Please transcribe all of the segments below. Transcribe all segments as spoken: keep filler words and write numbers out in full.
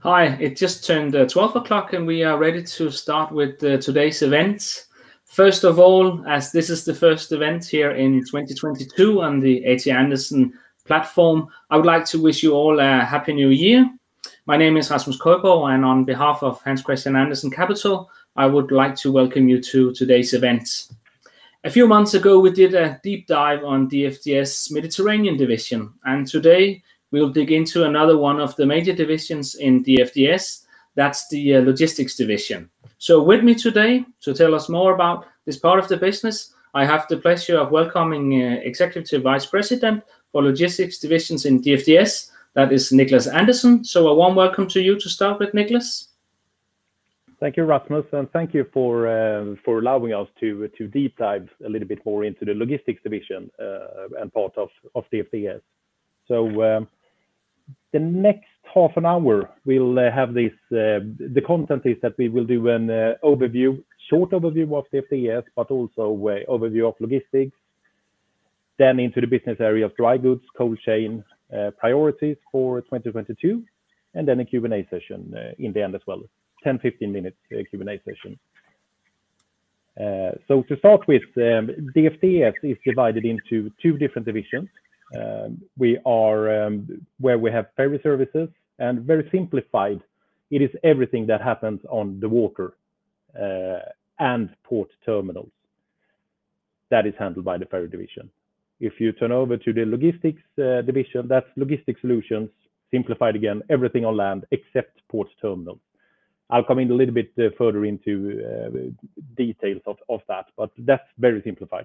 Hi, it just turned uh, twelve o'clock and we are ready to start with uh, today's event. First of all, as this is the first event here in twenty twenty-two on the A T Andersen platform, I would like to wish you all a happy new year. My name is Rasmus Køjborg, and on behalf of Hans Christian Andersen Capital, I would like to welcome you to today's event. A few months ago, we did a deep dive on D F D S Mediterranean division, and today we'll dig into another one of the major divisions in D F D S, that's the uh, logistics division. So with me today to tell us more about this part of the business, I have the pleasure of welcoming uh, Executive Vice President for Logistics Divisions in D F D S, that is Niklas Andersen. So a warm welcome to you to start with, Niklas. Thank you, Rasmus, and thank you for uh, for allowing us to to deep dive a little bit more into the logistics division uh, and part of of D F D S. So um, the next half an hour we'll uh, have this. Uh, the content is that we will do an uh, overview, short overview of D F D S, but also uh, overview of logistics. Then into the business area of dry goods, cold chain, uh, priorities for twenty twenty-two, and then a Q and A session uh, in the end as well. ten to fifteen minutes uh, Q and A session. Uh, so to start with, um, D F D S is divided into two different divisions. Um, we are um, where we have ferry services, and very simplified, it is everything that happens on the water uh, and port terminals. That is handled by the ferry division. If you turn over to the logistics uh, division, that's logistic solutions, simplified again, everything on land except port terminals. I'll come in a little bit uh, further into uh, details of, of that, but that's very simplified.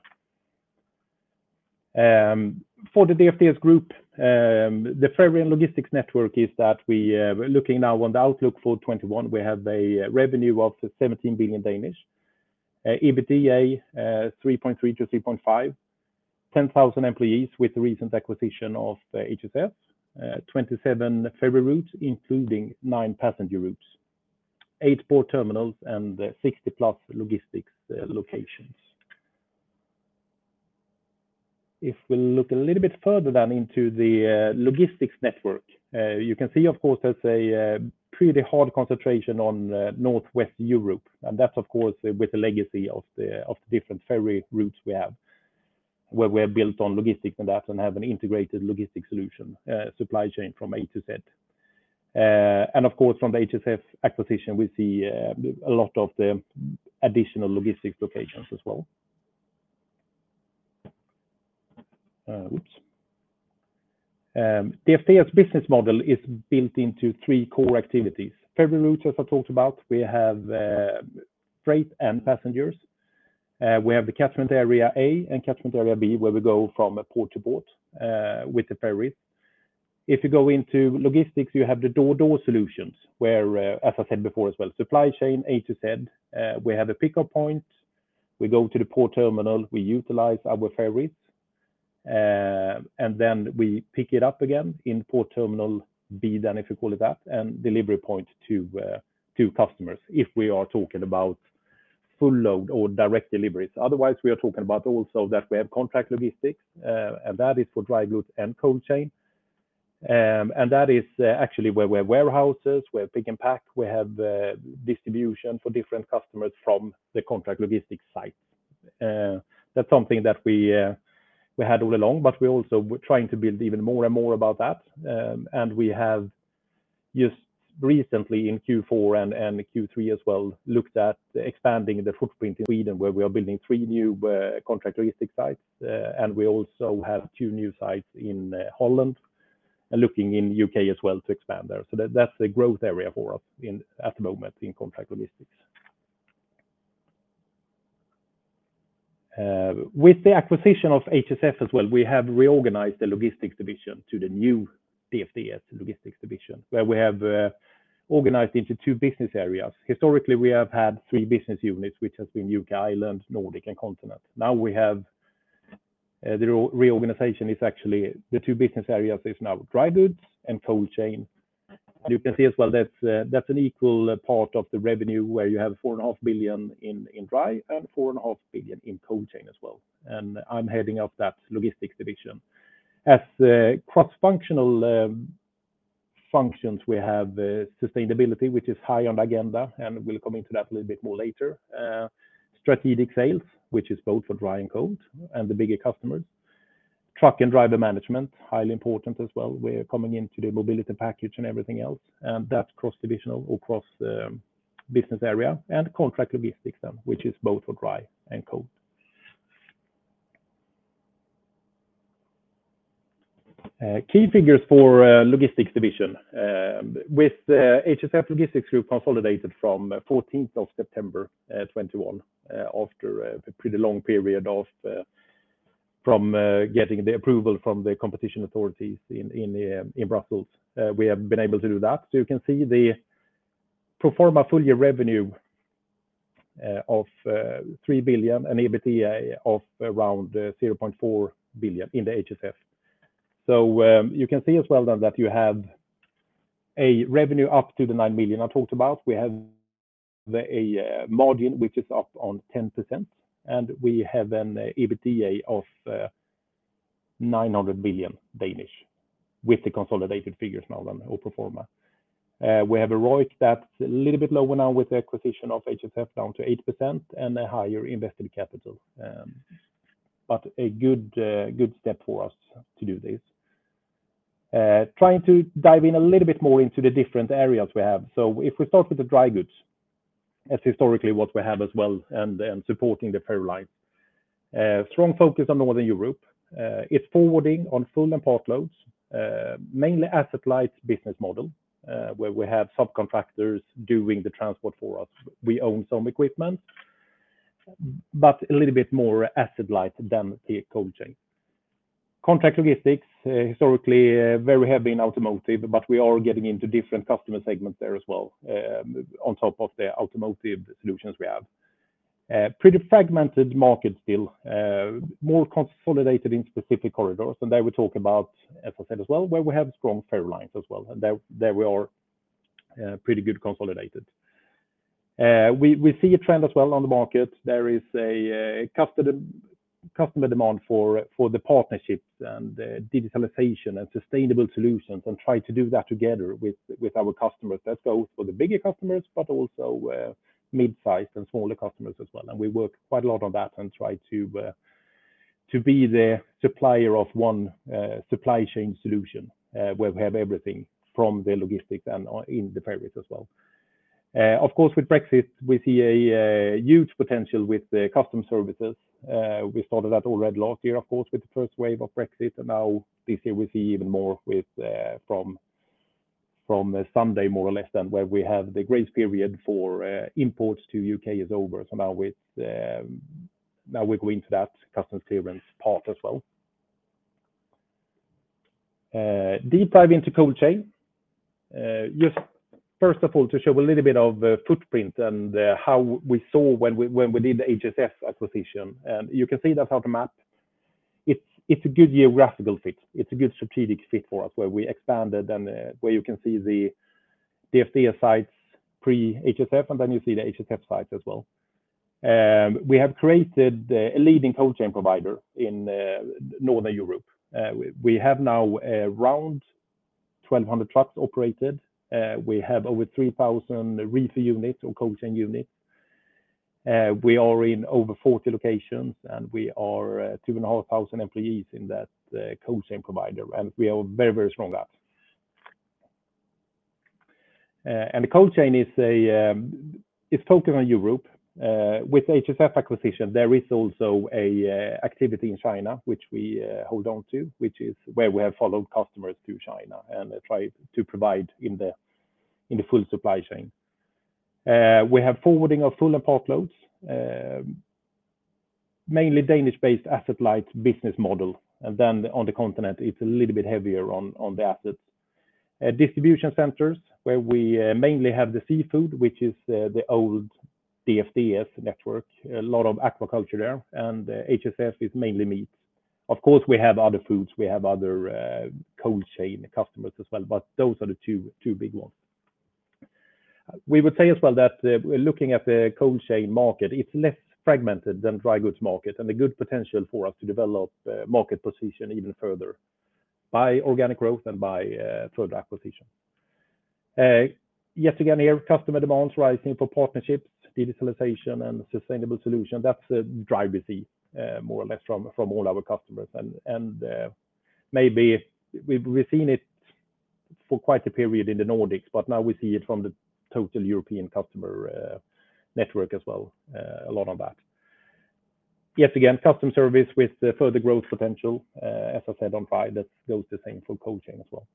Um, for the D F D S group, um, the ferry and logistics network is that we uh, looking now on the outlook for twenty-one, we have a revenue of seventeen billion Danish, uh, EBITDA uh, three point three to three point five, ten thousand employees with the recent acquisition of uh, H S F, uh, twenty-seven ferry routes, including nine passenger routes, eight port terminals, and uh, sixty plus logistics uh, locations. If we look a little bit further then into the uh, logistics network, uh, you can see, of course, there's a uh, pretty hard concentration on uh, Northwest Europe, and that's, of course, uh, with the legacy of the of the different ferry routes we have, where we're built on logistics and that, and have an integrated logistics solution, uh, supply chain from A to Z. Uh, and of course, from the H S F acquisition, we see uh, a lot of the additional logistics locations as well. Uh, oops. Um, the D F D S business model is built into three core activities. Ferry routes, as I talked about, we have uh, freight and passengers. Uh, we have the catchment area A and catchment area B, where we go from port to port uh, with the ferries. If you go into logistics, you have the door-to-door solutions, where, uh, as I said before as well, supply chain A to Z. Uh, we have a pickup point. We go to the port terminal. We utilize our ferries. Uh, and then we pick it up again in port terminal B, then if you call it that, and delivery point to, uh, to customers, if we are talking about full load or direct deliveries. Otherwise, we are talking about also that we have contract logistics, uh, and that is for dry goods and cold chain. Um, and that is uh, actually where we have warehouses, we have pick and pack, we have uh, distribution for different customers from the contract logistics site. Uh, that's something that we uh, we had all along, but we're also trying to build even more and more about that. Um, and we have just recently in Q four and, and Q three as well looked at expanding the footprint in Sweden, where we are building three new uh, contract logistics sites, uh, and we also have two new sites in uh, Holland, and looking in U K as well to expand there. So that, that's a growth area for us in at the moment in contract logistics. Uh, with the acquisition of H S F as well, we have reorganized the logistics division to the new D F D S logistics division, where we have uh, organized into two business areas. Historically, we have had three business units, which has been U K, Ireland, Nordic, and Continent. Now we have Uh, the reorganization is actually the two business areas is now dry goods and cold chain. And you can see as well that's uh, that's an equal uh, part of the revenue, where you have four and a half billion in in dry and four and a half billion in cold chain as well. And I'm heading up that logistics division. As uh, cross-functional um, functions, we have uh, sustainability, which is high on the agenda, and we'll come into that a little bit more later. Uh, strategic sales, which is both for dry and cold, and the bigger customers. Truck and driver management, highly important as well. We're coming into the mobility package and everything else, and that's cross-divisional or cross um, business area, and contract logistics then, which is both for dry and cold. Uh, key figures for uh, logistics division. Um, with uh, H S F Logistics Group consolidated from uh, fourteenth of September uh, twenty-one, uh, after a pretty long period of uh, from uh, getting the approval from the competition authorities in in, uh, in Brussels. Uh, we have been able to do that. So you can see the pro forma full year revenue uh, of uh, three billion and EBITDA of around uh, zero point four billion in the H S F. So um, you can see as well then that you have a revenue up to the nine million I talked about. We have the, a uh, margin which is up on ten percent, and we have an uh, EBITDA of uh, nine hundred billion Danish with the consolidated figures now then, or pro forma. Uh, we have a R O I C that's a little bit lower now with the acquisition of H S F down to eight percent and a higher invested capital. Um, but a good uh, good step for us to do this. Uh, trying to dive in a little bit more into the different areas we have. So if we start with the dry goods, that's historically what we have as well, and, and supporting the ferry lines. Uh, strong focus on Northern Europe. Uh, it's forwarding on full and part loads, uh, mainly asset-light business model, uh, where we have subcontractors doing the transport for us. We own some equipment, but a little bit more asset-light than the cold chain. Contract logistics, uh, historically uh, very heavy in automotive, but we are getting into different customer segments there as well, um, on top of the automotive solutions we have. Uh, pretty fragmented market still, uh, more consolidated in specific corridors, and there we talk about, as I said as well, where we have strong ferry lines as well, and there, there we are uh, pretty good consolidated. Uh, we, we see a trend as well on the market. There is a, a customer customer demand for for the partnerships and uh, digitalization and sustainable solutions, and try to do that together with with our customers. That goes for the bigger customers, but also uh, mid-sized and smaller customers as well. And we work quite a lot on that and try to uh, to be the supplier of one uh, supply chain solution uh, where we have everything from the logistics and in the ferries as well. Uh, of course, with Brexit, we see a, a huge potential with the custom services. Uh, we started that already last year, of course, with the first wave of Brexit, and now this year we see even more with uh, from from uh, Sunday, more or less, than where we have the grace period for uh, imports to U K is over. So now with um, now we go into that customs clearance part as well. Uh, deep dive into cold chain. Uh, just first of all, to show a little bit of uh, footprint and uh, how we saw when we when we did the H S F acquisition, and you can see that on the map. It's it's a good geographical fit. It's a good strategic fit for us, where we expanded and uh, where you can see the D F D S sites pre H S F, and then you see the H S F sites as well. Um, we have created uh, a leading cold chain provider in uh, Northern Europe. Uh, we, we have now around twelve hundred trucks operated. Uh, we have over three thousand reefer units or cold chain units. Uh, we are in over forty locations, and we are uh, two and a half thousand employees in that uh, cold chain provider, and we are very, very strong at. Uh, and the cold chain is a um, it's focused on Europe. Uh, with the H S F acquisition, there is also a uh, activity in China, which we uh, hold on to, which is where we have followed customers to China and uh, try to provide in the in the full supply chain. Uh, we have forwarding of full and part loads, uh, mainly Danish-based asset-light business model, and then on the continent it's a little bit heavier on on the assets. Uh, distribution centers, where we uh, mainly have the seafood, which is uh, the old D F D S network, a lot of aquaculture there, and uh, H S F is mainly meat. Of course, we have other foods, we have other uh, cold chain customers as well, but those are the two two big ones. We would say as well that uh, looking at the cold chain market, it's less fragmented than dry goods market, and a good potential for us to develop uh, market position even further by organic growth and by uh, further acquisition. Yet again here, customer demands rising for partnerships, digitalization, and sustainable solution. That's a drive we see more or less from from all our customers. And and maybe we've, we've seen it for quite a period in the Nordics, but now we see it from the total European customer uh, network as well, uh, a lot on that. Yet again, custom service with uh, further growth potential, uh, as I said on Friday, that goes the same for cold chain as well.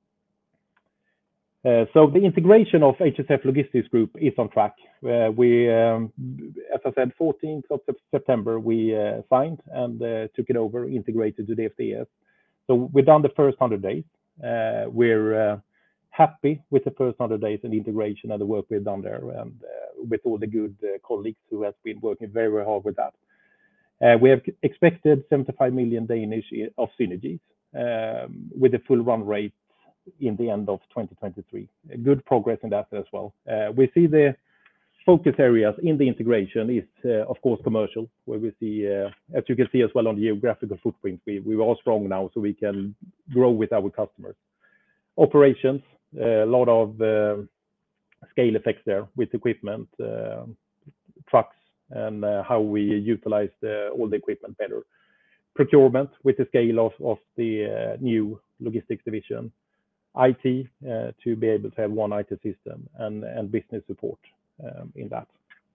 Uh, so the integration of H S F Logistics Group is on track. Uh, we, um, as I said, fourteenth of September, we uh, signed and uh, took it over, integrated to the F D S. So we've done the first one hundred days. Uh, we're uh, happy with the first one hundred days and integration and the work we've done there, and uh, with all the good uh, colleagues who have been working very, very hard with that. Uh, we have expected seventy-five million Danish of synergies um, with a full run rate in the end of twenty twenty-three. Good progress in that as well. Uh, we see the focus areas in the integration is, uh, of course, commercial, where we see, uh, as you can see as well on the geographical footprint, we, we are strong now, so we can grow with our customers. Operations, uh, a lot of uh, scale effects there with equipment, uh, trucks, and uh, how we utilize the, all the equipment better. Procurement with the scale of, of the uh, new logistics division. I T uh, to be able to have one I T system, and, and business support um, in that.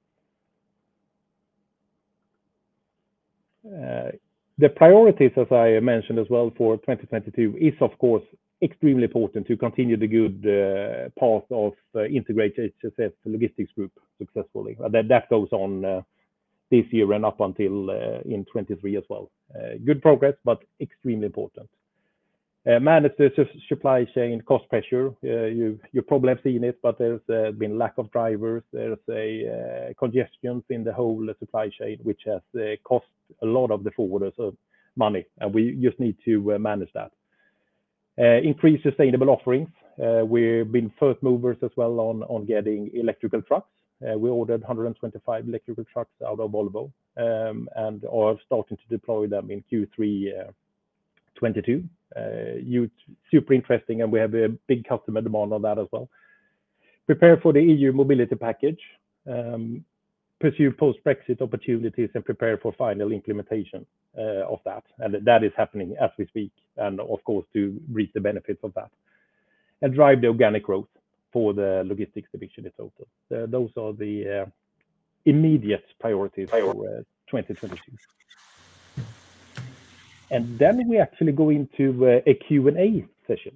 Uh, the priorities, as I mentioned as well, for twenty twenty-two is, of course, extremely important to continue the good uh, path of uh, integrate H S F Logistics Group successfully. Uh, that, that goes on uh, this year and up until uh, in twenty-three as well. Uh, good progress, but extremely important. Uh, manage the supply chain cost pressure. Uh, you you probably have seen it, but there's uh, been lack of drivers. There's a uh, congestion in the whole supply chain, which has uh, cost a lot of the forwarders of money, and we just need to uh, manage that. Uh, increase sustainable offerings. Uh, we've been first movers as well on on getting electrical trucks. Uh, we ordered one hundred twenty-five electrical trucks out of Volvo, um, and are starting to deploy them in Q three uh, twenty-two. Uh, you super interesting, and we have a big customer demand on that as well. Prepare for the E U mobility package, um, pursue post-Brexit opportunities, and prepare for final implementation uh, of that. And that is happening as we speak, and of course to reap the benefits of that. And drive the organic growth for the logistics division in total. Uh, those are the uh, immediate priorities for uh, twenty twenty-two. And then we actually go into uh, a Q and A session.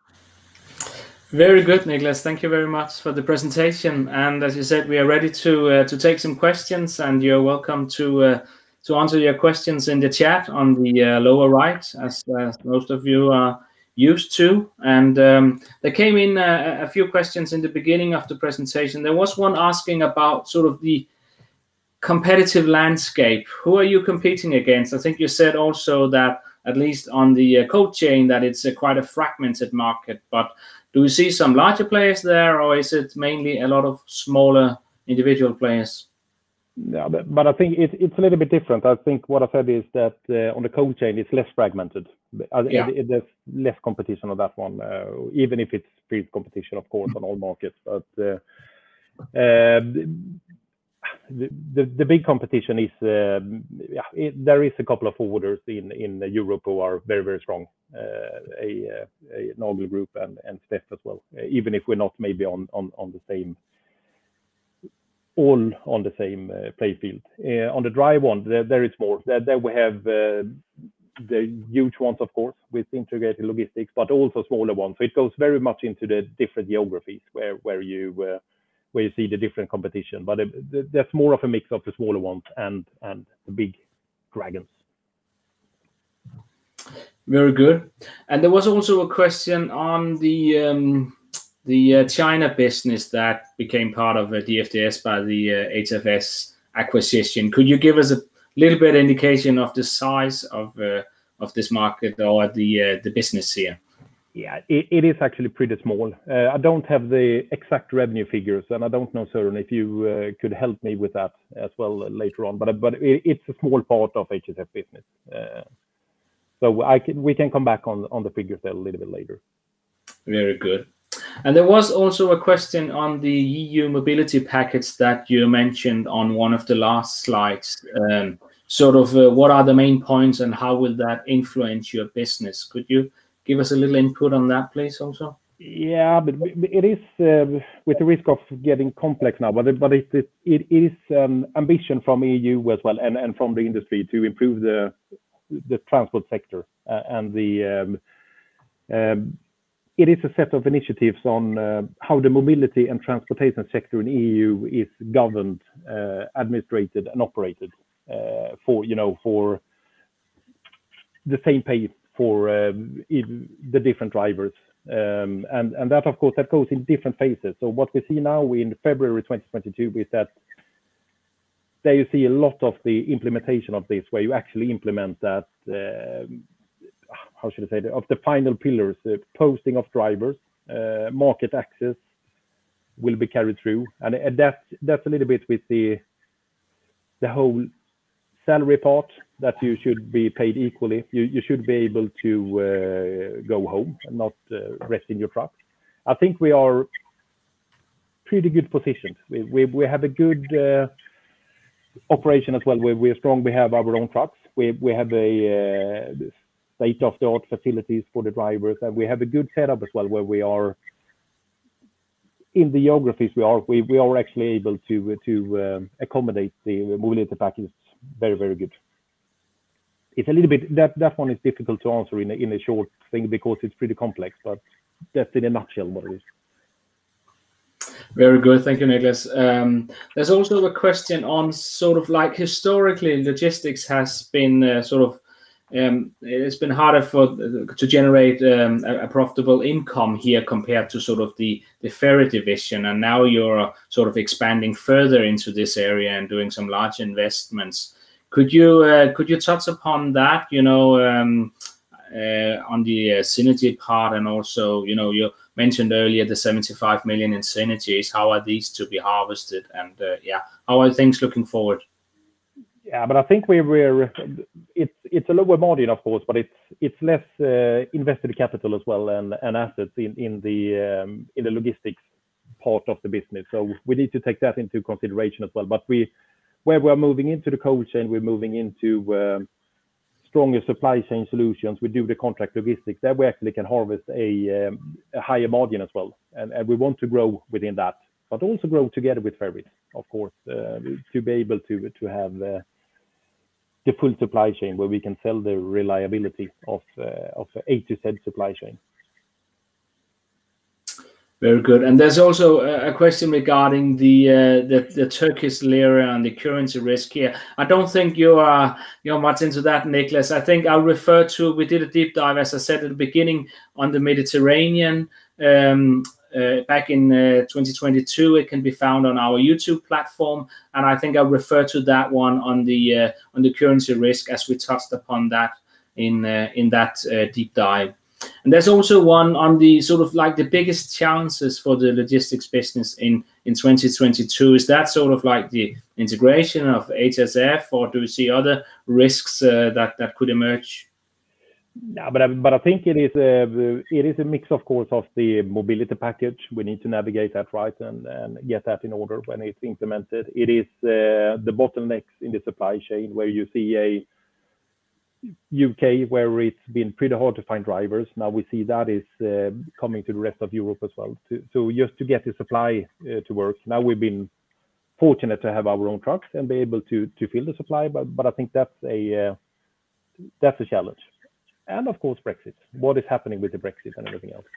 Very good, Niklas. Thank you very much for the presentation. And as you said, we are ready to uh, to take some questions, and you're welcome to uh, to answer your questions in the chat on the uh, lower right, as uh, most of you are used to. And um, there came in a, a few questions in the beginning of the presentation. There was one asking about sort of the competitive landscape. Who are you competing against? I think you said also that, at least on the uh, cold chain, that it's a quite a fragmented market, but do you see some larger players there, or is it mainly a lot of smaller individual players? Yeah, but, but I think it, it's a little bit different. I think what I said is that uh, on the cold chain, it's less fragmented. Yeah. It, it, there's less competition on that one, uh, even if it's fierce competition, of course, on all markets. But uh, uh, The, the, the big competition is, uh, yeah, it, there is a couple of forwarders in, in Europe who are very, very strong, uh, a, a Nagel Group and, and Steff as well, uh, even if we're not maybe on, on, on the same, all on the same uh, play field. Uh, on the dry one, there, there is more. There, there we have uh, the huge ones, of course, with integrated logistics, but also smaller ones. So it goes very much into the different geographies where, where you uh, where you see the different competition, but it, that's more of a mix of the smaller ones and and the big dragons. Very good. And there was also a question on the um, the uh, China business that became part of uh, D F D S by the uh, H F S acquisition. Could you give us a little bit indication of the size of uh, of this market or the uh, the business here? Yeah, it, it is actually pretty small. Uh, I don't have the exact revenue figures, and I don't know, Søren, if you uh, could help me with that as well uh, later on. But but it, it's a small part of H S F business, uh, so I can we can come back on on the figures there a little bit later. Very good. And there was also a question on the E U mobility package that you mentioned on one of the last slides. Um, sort of uh, what are the main points and how will that influence your business? Could you give us a little input on that, please, also? Yeah, but it is uh, with the risk of getting complex now, but it, but it, it, it is um, ambition from E U as well and, and from the industry to improve the the transport sector uh, and the um, um, it is a set of initiatives on uh, how the mobility and transportation sector in E U is governed, uh, administrated, and operated uh, for you know for the same pay for uh, the different drivers. Um, and, and that, of course, that goes in different phases. So what we see now in February twenty twenty-two is that there you see a lot of the implementation of this, where you actually implement that, uh, how should I say, of the final pillars, uh, posting of drivers, uh, market access will be carried through. And, and that, that's a little bit with the, the whole salary part, that you should be paid equally. You, you should be able to uh, go home and not uh, rest in your truck. I think we are pretty good positioned. We, we, we have a good uh, operation as well, where we're strong. We have our own trucks. We, we have a uh, state-of-the-art facilities for the drivers, and we have a good setup as well, where we are in the geographies we are. We, we are actually able to, to um, accommodate the mobility package very, very good. It's a little bit, that, that one is difficult to answer in a, in a short thing because it's pretty complex, but that's in a nutshell what it is. Very good. Thank you, Niklas. Um, there's also a question on sort of like historically logistics has been uh, sort of, um, it's been harder for to generate um, a, a profitable income here compared to sort of the, the ferry division. And now you're sort of expanding further into this area and doing some large investments. Could you uh, could you touch upon that, you know, um, uh, on the uh, synergy part, and also, you know, you mentioned earlier the seventy-five million in synergies. How are these to be harvested, and uh, yeah, how are things looking forward? Yeah, but I think we we're it's it's a lower margin, of course, but it's it's less uh, invested capital as well, and and assets in in the um, in the logistics part of the business. So we need to take that into consideration as well. But we where we're moving into the cold chain, we're moving into um, stronger supply chain solutions. We do the contract logistics. There we actually can harvest a, um, a higher margin as well, and, and we want to grow within that, but also grow together with ferries, of course, uh, to be able to to have uh, the full supply chain where we can sell the reliability of uh, of A to Z supply chain. Very good. And there's also a question regarding the, uh, the the Turkish lira and the currency risk here. I don't think you are you're much into that, Niklas. I think I'll refer to, we did a deep dive, as I said at the beginning, on the Mediterranean um, uh, back in uh, twenty twenty-two. It can be found on our YouTube platform, and I think I'll refer to that one on the uh, on the currency risk, as we touched upon that in uh, in that uh, deep dive. And there's also one on the sort of like the biggest challenges for the logistics business in, in twenty twenty-two. Is that sort of like the integration of H S F, or do you see other risks uh, that, that could emerge? No, but I, but I think it is a it is a mix, of course, of the mobility package. We need to navigate that right and, and get that in order when it's implemented. It is uh, the bottlenecks in the supply chain, where you see a U K where it's been pretty hard to find drivers. Now we see that is uh, coming to the rest of Europe as well. To, so just to get the supply uh, to work. Now we've been fortunate to have our own trucks and be able to to fill the supply, but but I think that's a uh, that's a challenge. And of course Brexit. What is happening with the Brexit and everything else?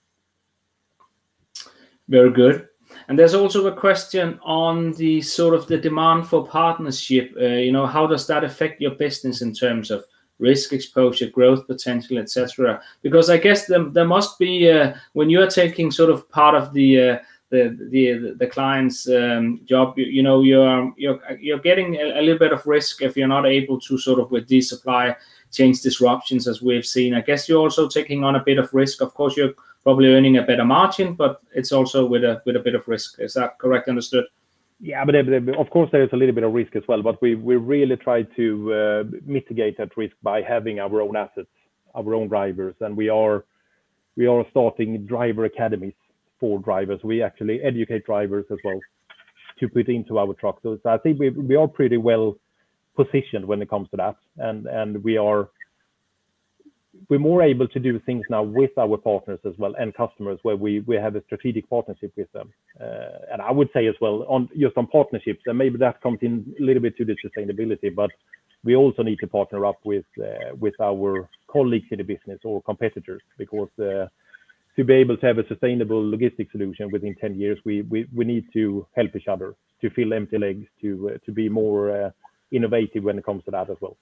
Very good. And there's also a question on the sort of the demand for partnership. Uh, you know, how does that affect your business in terms of risk exposure, growth potential, et cetera? Because I guess there, there must be uh, when you are taking sort of part of the uh, the the the client's um, job, you, you know, you're you're you're getting a, a little bit of risk if you're not able to sort of, with these supply chain disruptions as we've seen. I guess you're also taking on a bit of risk. Of course, you're probably earning a better margin, but it's also with a with a bit of risk. Is that correct understood? Yeah, but of course there is a little bit of risk as well, but we, we really try to uh, mitigate that risk by having our own assets, our own drivers, and we are we are starting driver academies for drivers. We actually educate drivers as well to put into our truck. So, so I think we we are pretty well positioned when it comes to that, and and we are we're more able to do things now with our partners as well and customers, where we we have a strategic partnership with them. Uh, and I would say as well on just on partnerships, and maybe that comes in a little bit to the sustainability, but we also need to partner up with uh, with our colleagues in the business or competitors, because uh, to be able to have a sustainable logistics solution within ten years, we we, we need to help each other to fill empty legs, to uh, to be more uh, innovative when it comes to that as well.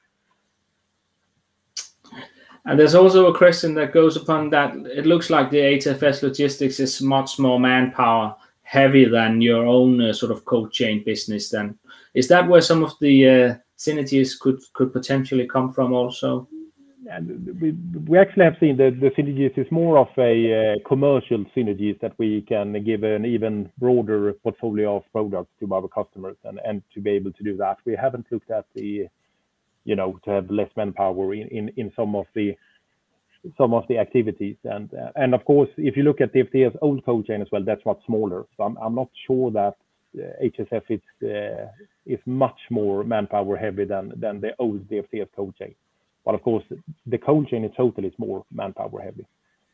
And there's also a question that goes upon that. It looks like the H F S Logistics is much more manpower heavy than your own uh, sort of cold chain business. Then is that where some of the uh, synergies could could potentially come from also? And we we actually have seen that the synergies is more of a uh, commercial synergies, that we can give an even broader portfolio of products to our customers, and and to be able to do that. We haven't looked at the, you know, to have less manpower in in, in some of the some of the activities, and uh, and of course, if you look at the F T S old cold chain as well, that's much smaller. So I'm I'm not sure that uh, H S F is uh, is much more manpower heavy than than the old D F T S cold chain. But of course, the cold chain in total is more manpower heavy.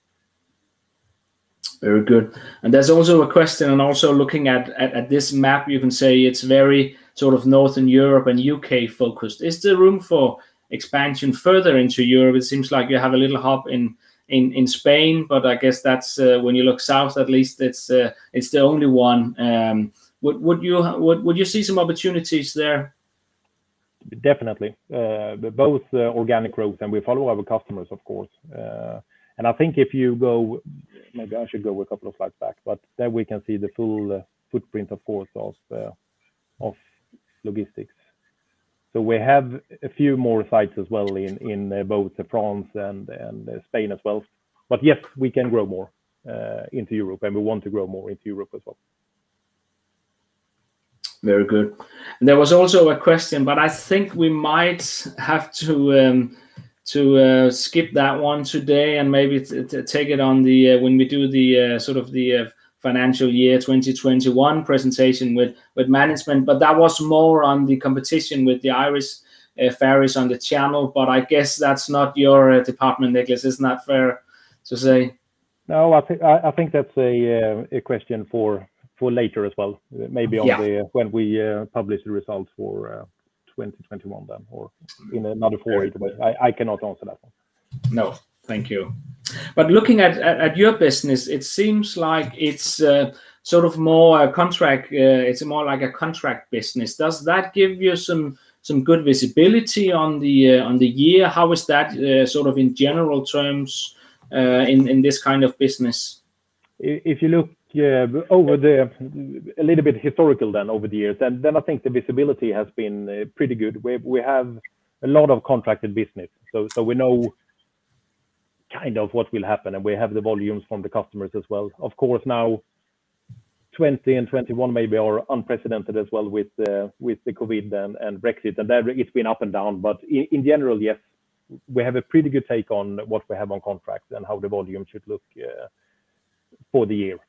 Very good. And there's also a question, and also looking at, at, at this map, you can say it's very sort of Northern Europe and U K focused. Is there room for expansion further into Europe? It seems like you have a little hub in in, in Spain, but I guess that's uh, when you look south, at least it's uh, it's the only one. Um, would would you would would you see some opportunities there? Definitely, uh, both uh, organic growth, and we follow our customers, of course. Uh, and I think if you go, maybe I should go a couple of slides back, but there we can see the full uh, footprint, of course, of uh, of logistics. So we have a few more sites as well in in uh, both France and and uh, Spain as well. But yes, we can grow more uh, into Europe, and we want to grow more into Europe as well. Very good. And there was also a question, but I think we might have to um, to uh, skip that one today, and maybe t t take it on the uh, when we do the uh, sort of the uh, financial year twenty twenty-one presentation with with management. But that was more on the competition with the Irish uh, ferries on the channel. But I guess that's not your uh, department, Niklas. Isn't that fair to say? No, I think I think that's a uh, a question for. for later as well, maybe on yeah. the when we uh, publish the results for uh, twenty twenty-one then, or in another forum. I, I cannot answer that one. No, thank you. But looking at, at, at your business, it seems like it's uh, sort of more a contract, uh, it's more like a contract business. Does that give you some some good visibility on the uh, on the year? How is that uh, sort of in general terms uh, in, in this kind of business? If you look Yeah, over the a little bit historical then over the years, and then I think the visibility has been uh, pretty good. We we have a lot of contracted business, so so we know kind of what will happen, and we have the volumes from the customers as well. Of course, now twenty and twenty-one maybe are unprecedented as well with uh, with the COVID and, and Brexit, and there it's been up and down. But in, in general, yes, we have a pretty good take on what we have on contracts and how the volume should look uh, for the year.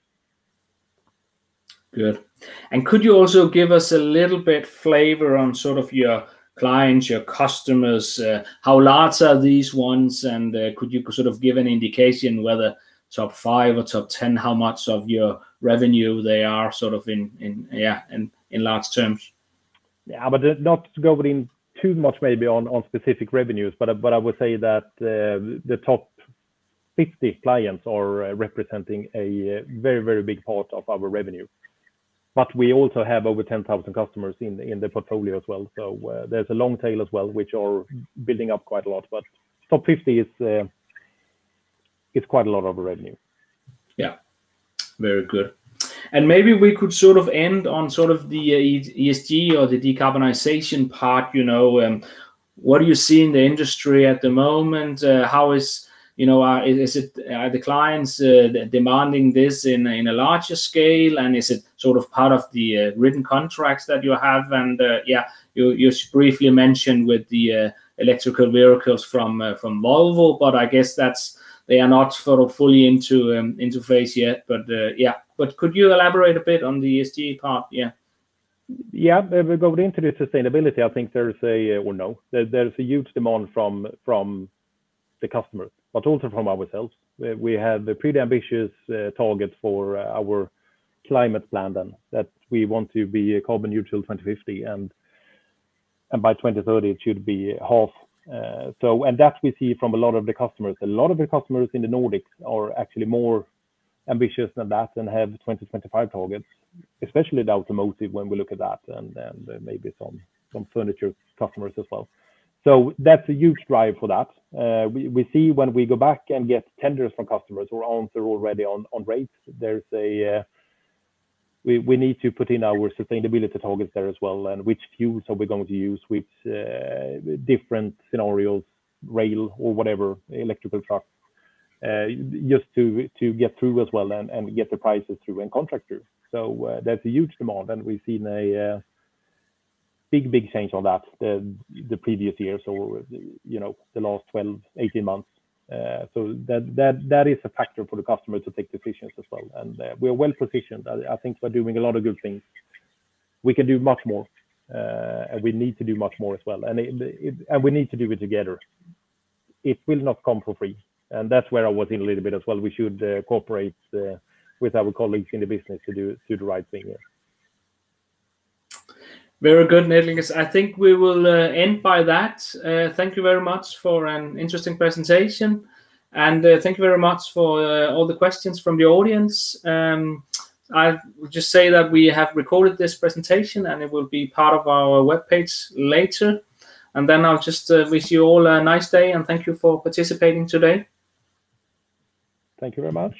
Good. And could you also give us a little bit flavor on sort of your clients, your customers? Uh, how large are these ones? And uh, could you sort of give an indication whether top five or top ten, how much of your revenue they are sort of in, in yeah, in, in large terms? Yeah, but not to go in too much maybe on, on specific revenues, but, but I would say that uh, the top fifty clients are uh, representing a very, very big part of our revenue. But we also have over ten thousand customers in in the portfolio as well. So uh, there's a long tail as well, which are building up quite a lot. But top fifty is uh, is quite a lot of revenue. Yeah, very good. And maybe we could sort of end on sort of the uh, E S G or the decarbonization part. You know, um, what do you see in the industry at the moment? Uh, how is You know, uh, is it are the clients uh, demanding this in in a larger scale, and is it sort of part of the uh, written contracts that you have? And uh, yeah, you you briefly mentioned with the uh, electrical vehicles from uh, from Volvo, but I guess that's they are not sort of fully into um, into phase yet. But uh, yeah, but could you elaborate a bit on the E S G part? Yeah. Yeah, we go into the sustainability. I think there's a or no, there, there's a huge demand from from the customers, but also from ourselves. We have a pretty ambitious uh, target for uh, our climate plan, then, that we want to be carbon neutral twenty fifty, and and by twenty thirty it should be half. Uh, so, and that we see from a lot of the customers. A lot of the customers in the Nordics are actually more ambitious than that and have twenty twenty-five targets, especially the automotive when we look at that, and, and uh, maybe some some furniture customers as well. So that's a huge drive for that. Uh, we, we see when we go back and get tenders from customers or answer already on, on rates, there's a uh, we, we need to put in our sustainability targets there as well, and which fuels are we going to use, which uh, different scenarios, rail or whatever, electrical trucks, uh, just to to get through as well, and, and get the prices through and contract through. So uh, that's a huge demand, and we've seen a uh, big, big change on that the the previous years, or you know, the last twelve, eighteen months. Uh, so that that that is a factor for the customer to take decisions as well, and uh, we are well positioned. I, I think we're doing a lot of good things. We can do much more, uh, and we need to do much more as well, and it, it, and we need to do it together. It will not come for free, and that's where I was in a little bit as well. We should uh, cooperate uh, with our colleagues in the business to do do the right thing here. Very good, Niclas. I think we will uh, end by that. Uh, thank you very much for an interesting presentation. And uh, thank you very much for uh, all the questions from the audience. Um, I will just say that we have recorded this presentation and it will be part of our webpage later. And then I'll just uh, wish you all a nice day and thank you for participating today. Thank you very much.